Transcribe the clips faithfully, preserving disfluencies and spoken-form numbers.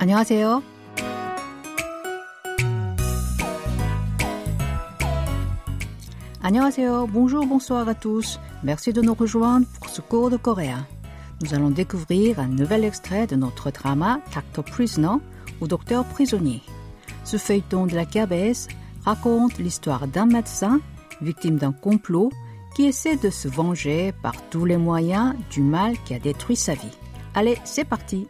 안녕하세요. 안녕하세요. Bonjour, bonsoir à tous. Merci de nous rejoindre pour ce cours de coréen. Nous allons découvrir un nouvel extrait de notre drama Doctor Prisoner ou Docteur prisonnier. Ce feuilleton de la K B S raconte l'histoire d'un médecin victime d'un complot qui essaie de se venger par tous les moyens du mal qui a détruit sa vie. Allez, c'est parti!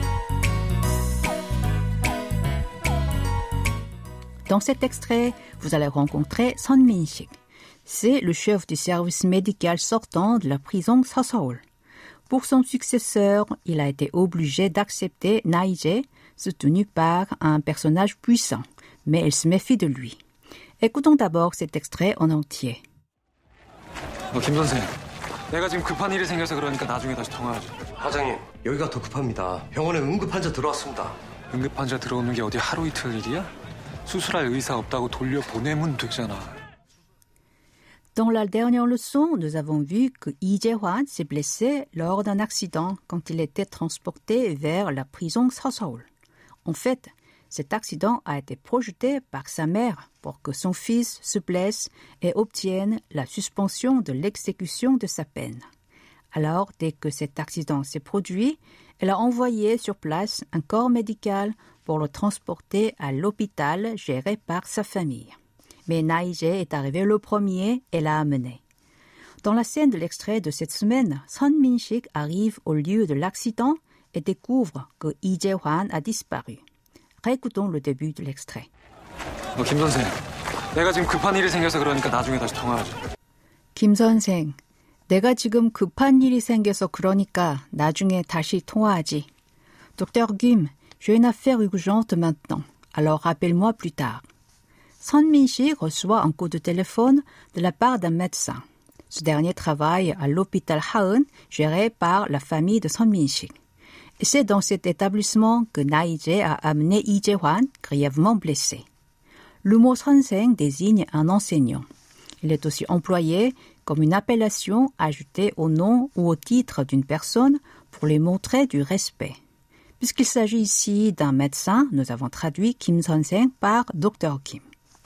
Dans cet extrait, vous allez rencontrer Son Min-sik. C'est le chef du service médical sortant de la prison Seoseol. Pour son successeur, il a été obligé d'accepter Na-jae, soutenu par un personnage puissant, mais il se méfie de lui. Écoutons d'abord cet extrait en entier. 어, 김 선생, 내가 지금 급한 일이 생겨서 그러니까 나중에 다시 통화하죠. 과장님, 여기가 더 급합니다. 병원에 응급 환자 들어왔습니다. 응급 환자 들어오는 게 어디 하루 이틀 일이야? 수술할 의사 없다고 돌려보내면 되잖아. Dans la dernière leçon, nous avons vu que Lee Jae-hwan s'est blessé lors d'un accident quand il était transporté vers la prison Seoseol. En fait, cet accident a été projeté par sa mère pour que son fils se blesse et obtienne la suspension de l'exécution de sa peine. Alors, dès que cet accident s'est produit, elle a envoyé sur place un corps médical pour le transporter à l'hôpital géré par sa famille. Mais Na-jae est arrivé le premier et l'a amené. Dans la scène de l'extrait de cette semaine, Son Min-sik arrive au lieu de l'accident et découvre que Lee Jae-hwan a disparu. Réécoutons le début de l'extrait. 어, 김 선생, 내가 지금 급한 일이 생겨서 그러니까 나중에 다시 통화하죠. 김 선생, 내가 지금 급한 일이 생겨서 그러니까 나중에 다시 통화하지. Docteur Kim, j'ai une affaire urgente maintenant, alors rappelle-moi plus tard. Son Min-sik reçoit un coup de téléphone de la part d'un médecin. Ce dernier travaille à l'hôpital Haeun, géré par la famille de Son Min-sik. Et c'est dans cet établissement que Na-jae a amené Lee Jae-hwan, grièvement blessé. Le mot 선생 désigne un enseignant. Il est aussi employé comme une appellation ajoutée au nom ou au titre d'une personne pour lui montrer du respect. Puisqu'il s'agit ici d'un médecin, nous avons traduit Kim 선생 par Docteur Kim.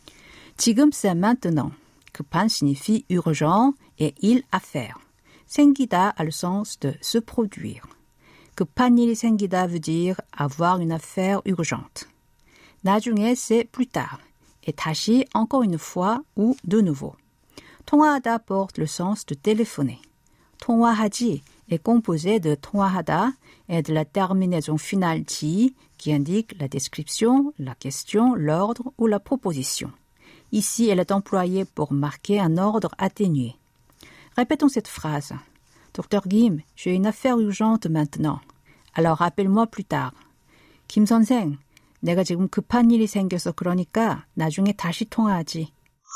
지금 c'est maintenant. 급한 signifie urgent et il à faire. 생기다 a le sens de se produire. 급한 일이 생기다 veut dire avoir une affaire urgente. 나중에 c'est plus tard. Et 다시 encore une fois ou de nouveau. 통화하다 porte le sens de téléphoner. 통화하지 est composé de 통화하다 et de la terminaison finale 지 qui indique la description, la question, l'ordre ou la proposition. Ici, elle est employée pour marquer un ordre atténué. Répétons cette phrase. Docteur Kim, j'ai une affaire urgente maintenant. Alors rappelle-moi plus tard. 김 선생, 내가 지금 급한 일이 생겨서 그러니까 나중에 다시 통화하지.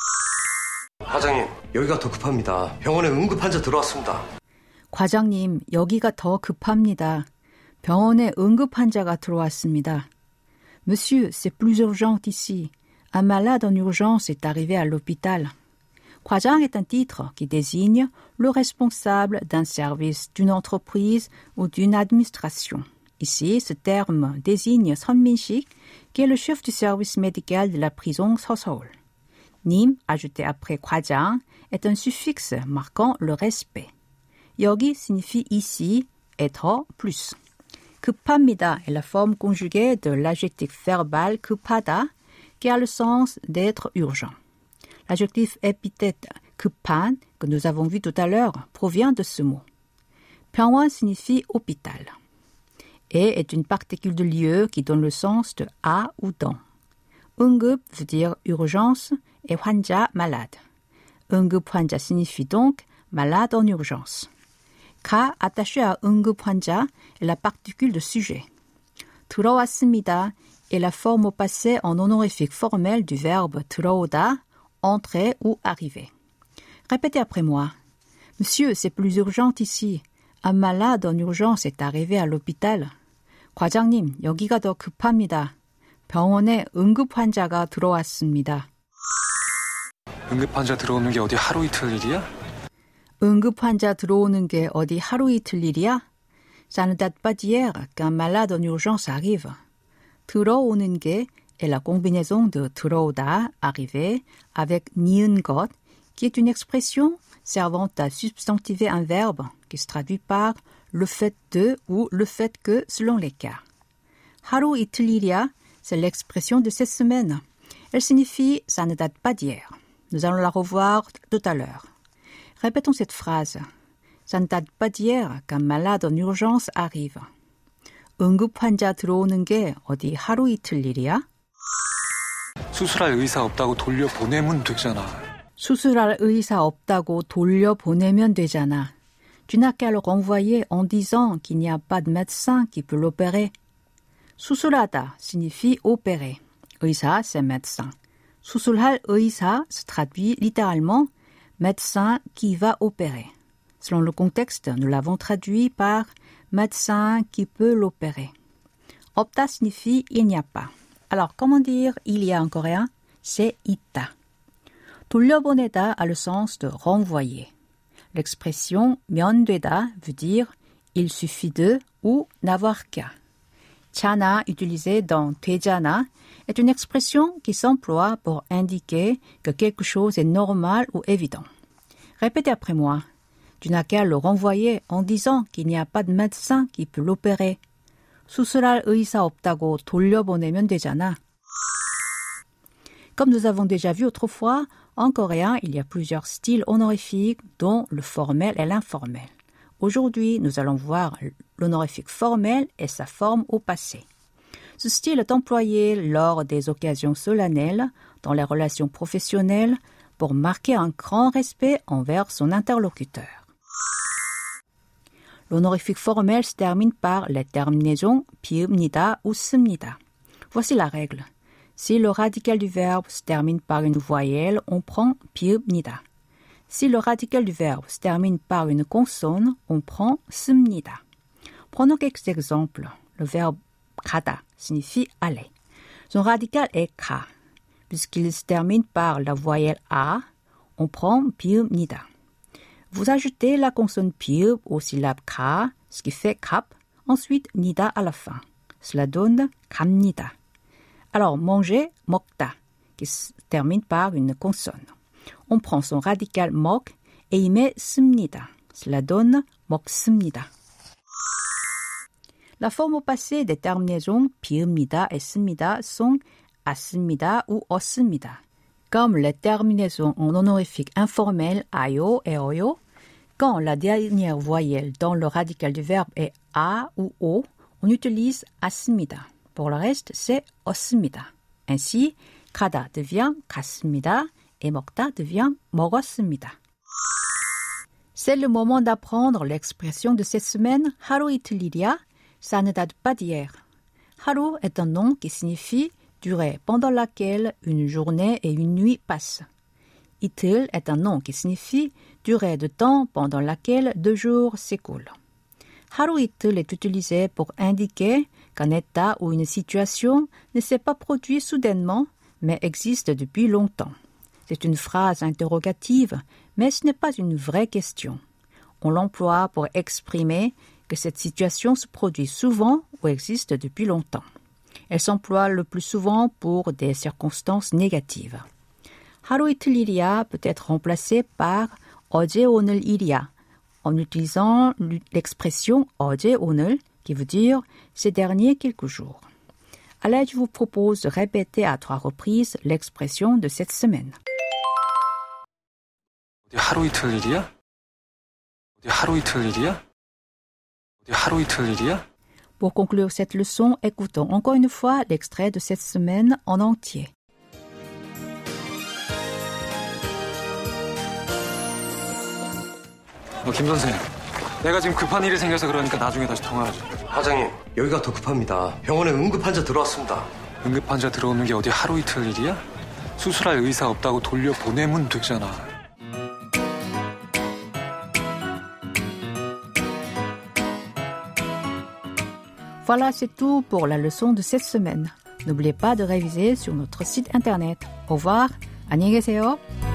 과장님, 여기가 더 급합니다. 병원에 응급 환자 들어왔습니다. 과장님, 여기가 더 급합니다. 병원에 응급 환자가 들어왔습니다. Monsieur, c'est plus urgent ici. Un malade en urgence est arrivé à l'hôpital. 과장 est un titre qui désigne le responsable d'un service, d'une entreprise ou d'une administration. Ici, ce terme désigne Son Min-sik, qui est le chef du service médical de la prison Seoseol. 님, ajouté après 과장, est un suffixe marquant le respect. 여기 signifie ici et 더 plus. 급합니다 est la forme conjuguée de l'adjectif verbal 급하다, qui a le sens d'être urgent. L'adjectif épithète 급한, que nous avons vu tout à l'heure, provient de ce mot. 병원 signifie hôpital et est une particule de lieu qui donne le sens de à ou dans. 응급 veut dire urgence et 환자 malade. 응급 환자 signifie donc malade en urgence. 가 attaché à 응급 환자 est la particule de sujet. 들어왔습니다 est la forme au passé en honorifique formel du verbe 들어오다, entrer ou arriver. Répétez après moi. Monsieur, c'est plus urgent ici. Un malade en urgence est arrivé à l'hôpital. 과장님, 여기가 더 급합니다. 병원에 응급 환자가 들어왔습니다. 응급 환자 들어오는 게 어디 하루 이틀 일이야? 응급 환자 들어오는 게 어디 하루 이틀 일이야? Ça ne date pas d'hier qu'un malade en urgence arrive. 들어오는 게 est la combinaison de 들어오다, arriver, avec 니은 것, qui est une expression servant à substantiver un verbe qui se traduit par le fait de ou le fait que selon les cas. 하루 이틀 일이야, c'est l'expression de cette semaine. Elle signifie « ça ne date pas d'hier ». Nous allons la revoir tout à l'heure. Répétons cette phrase. Ça ne date pas d'hier qu'un malade en urgence arrive. 응급 환자 들어오는 게 어디 하루 이틀 일이야? 수술할 의사 없다고 돌려보내면 되잖아. 수술할 의사 없다고 돌려보내면 되잖아. Tu n'as qu'à le renvoyer en disant qu'il n'y a pas de médecin qui peut l'opérer. 수술하다 signifie opérer. 의사, c'est médecin. 수술할 의사 se traduit littéralement médecin qui va opérer. Selon le contexte, nous l'avons traduit par médecin qui peut l'opérer. 없다 signifie il n'y a pas. Alors, comment dire il y a en coréen? C'est 있다. 돌려보내다 a le sens de renvoyer. L'expression 면되다 veut dire il suffit de ou n'avoir qu'à. 잖아, utilisé dans 되잖아, est une expression qui s'emploie pour indiquer que quelque chose est normal ou évident. Répétez après moi. Tu n'as qu'à le renvoyer en disant qu'il n'y a pas de médecin qui peut l'opérer. 수술할 의사 없다고 돌려보내면 되잖아. Comme nous avons déjà vu autrefois, en coréen, il y a plusieurs styles honorifiques, dont le formel et l'informel. Aujourd'hui, nous allons voir l'honorifique formel et sa forme au passé. Ce style est employé lors des occasions solennelles, dans les relations professionnelles, pour marquer un grand respect envers son interlocuteur. L'honorifique formel se termine par les terminaisons 비읍니다 ou 씁니다. Voici la règle. Si le radical du verbe se termine par une voyelle, on prend 비읍니다. Si le radical du verbe se termine par une consonne, on prend 씁니다. Prenons quelques exemples. Le verbe 가다 signifie aller. Son radical est 가. Puisqu'il se termine par la voyelle a, on prend 비읍니다. Vous ajoutez la consonne 비읍 aux syllabes 가, ce qui fait 갑, ensuite 니다 à la fin. Cela donne 갑니다. Alors, manger, 먹다, qui se termine par une consonne. On prend son radical 먹 et y met 씁니다. Cela donne 먹습니다. La forme au passé des terminaisons 비읍니다 et 씁니다 sont as습니다 ou 없습니다. Comme les terminaisons en honorifique informel ayo et oyo, quand la dernière voyelle dans le radical du verbe est a ou o, on utilise as습니다. Pour le reste, c'est 없습니다. Ainsi, 가다 devient 갔습니다 et 먹다 devient 먹었습니다. C'est le moment d'apprendre l'expression de cette semaine 하루 이틀 일이야, ça ne date pas d'hier. 하루 est un nom qui signifie durée pendant laquelle une journée et une nuit passent. 이틀 est un nom qui signifie durée de temps pendant laquelle deux jours s'écoulent. 하루 이틀 est utilisé pour indiquer qu'un état ou une situation ne s'est pas produit soudainement, mais existe depuis longtemps. C'est une phrase interrogative, mais ce n'est pas une vraie question. On l'emploie pour exprimer que cette situation se produit souvent ou existe depuis longtemps. Elle s'emploie le plus souvent pour des circonstances négatives. 하루 이틀 일이야 peut être remplacé par 어제 오늘 일이야 en utilisant l'expression 어제 오늘 qui veut dire ces derniers quelques jours. Allez, je vous propose de répéter à trois reprises l'expression de cette semaine. 어디 하루 이틀 일이야? 어디 하루 이틀 일이야? 어디 하루 이틀 일이야? Pour conclure cette leçon, écoutons encore une fois l'extrait de cette semaine en entier. 어, 김 선생, 내가 지금 급한 일이 생겨서 그러니까 나중에 다시 통화하자. 과장님, 여기가 더 급합니다. 병원에 응급 환자 들어왔습니다. 응급 환자 들어오는 게 어디 하루 이틀 일이야? 수술할 의사 없다고 돌려보내면 되잖아. Voilà, c'est tout pour la leçon de cette semaine. N'oubliez pas de réviser sur notre site internet. Au revoir, 안녕히 계세요.